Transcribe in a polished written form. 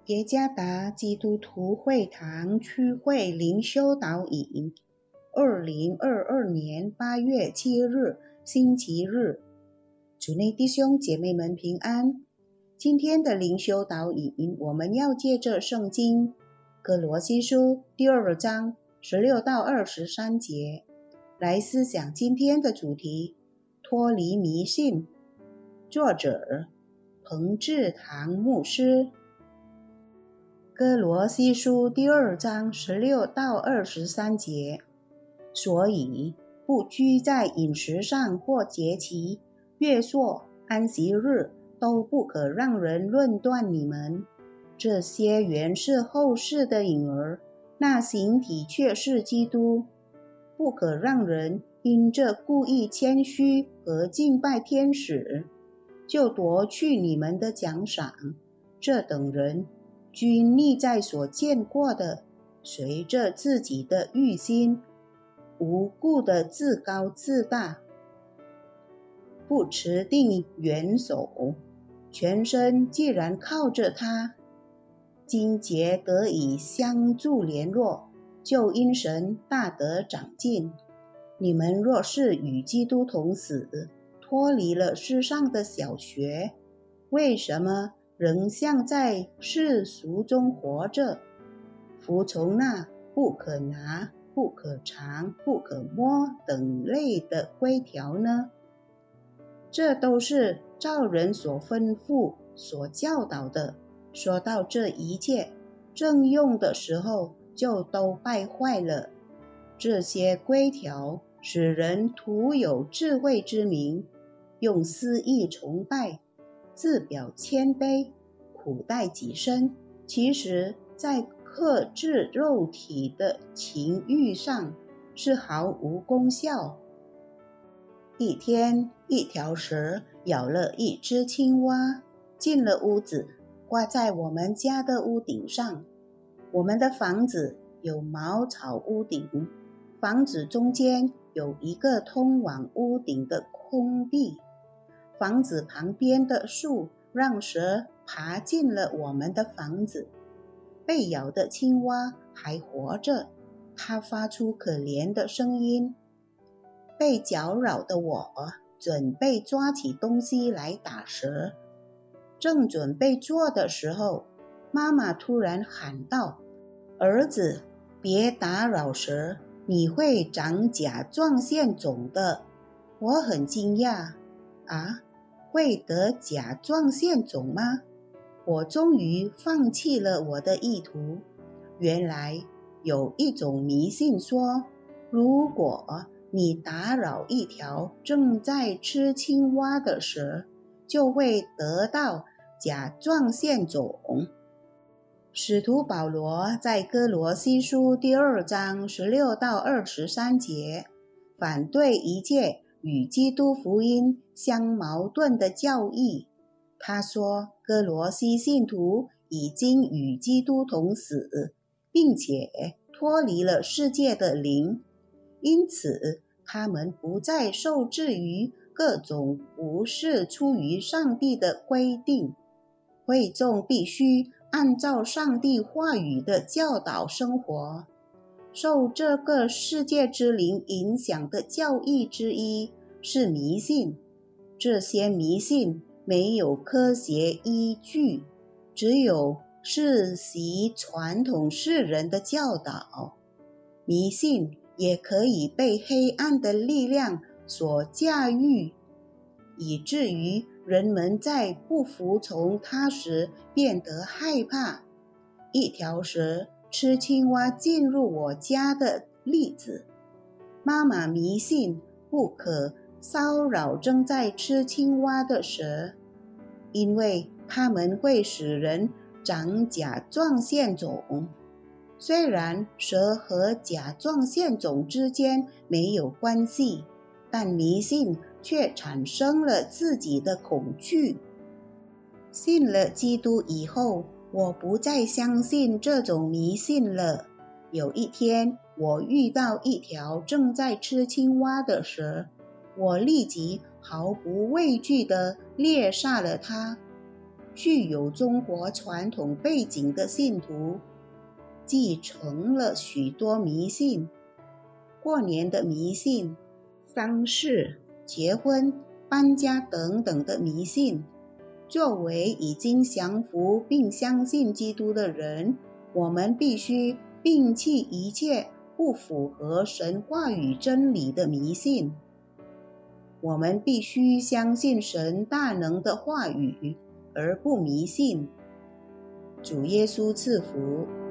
耶加达基督徒会堂区会灵修导引，2022年8月7日，星期日。主内弟兄姐妹们平安。今天的灵修导引，我们要借着圣经哥罗西书第2章16到23节来思想今天的主题：脱离迷信。作者彭志堂牧师。哥罗西书第2章16到23节，所以不拘在饮食上或节期、月朔、安息日，都不可让人论断你们。这些原是后世的影儿，那形体却是基督。不可让人因这故意谦虚和敬拜天使，就夺去你们的奖赏。这等人均腻在所见过的，随着自己的欲心，无故的自高自大，不持定元首，全身既然靠着他，筋节得以相助联络，就因神大得长进。你们若是与基督同死，脱离了世上的小学，为什么仍像在世俗中活着，服从那不可拿、不可尝、不可摸等类的规条呢？这都是照人所吩咐、所教导的。说到这一切，正用的时候就都败坏了。这些规条使人徒有智慧之名，用私意崇拜，自表谦卑，苦待己身，其实在克制肉体的情欲上是毫无功效。一天，一条蛇咬了一只青蛙，进了屋子，挂在我们家的屋顶上。我们的房子有茅草屋顶，房子中间有一个通往屋顶的空地。房子旁边的树让蛇爬进了我们的房子。被咬的青蛙还活着，它发出可怜的声音。被搅扰的我准备抓起东西来打蛇，正准备做的时候，妈妈突然喊道：“儿子，别打扰蛇，你会长甲状腺肿的。”我很惊讶，会得甲状腺肿吗？我终于放弃了我的意图。原来有一种迷信说，如果你打扰一条正在吃青蛙的蛇，就会得到甲状腺肿。使徒保罗在哥罗西书第2章16到23节反对一切与基督福音相矛盾的教义。他说，哥罗西信徒已经与基督同死，并且脱离了世界的灵，因此他们不再受制于各种不是出于上帝的规定。会众必须按照上帝话语的教导生活。受这个世界之灵影响的教义之一是迷信。这些迷信没有科学依据，只有世袭传统世人的教导。迷信也可以被黑暗的力量所驾驭，以至于人们在不服从它时变得害怕。一条蛇吃青蛙进入我家的例子，妈妈迷信不可骚扰正在吃青蛙的蛇，因为它们会使人长甲状腺肿。虽然蛇和甲状腺肿之间没有关系，但迷信却产生了自己的恐惧。信了基督以后，我不再相信这种迷信了。有一天，我遇到一条正在吃青蛙的蛇，我立即毫不畏惧地猎杀了它。 具有中国传统背景的信徒继承了许多迷信，过年的迷信、丧事、结婚、搬家等等的迷信。作为已经降服并相信基督的人，我们必须摒弃一切不符合神话语真理的迷信。我们必须相信神大能的话语，而不迷信。主耶稣赐福。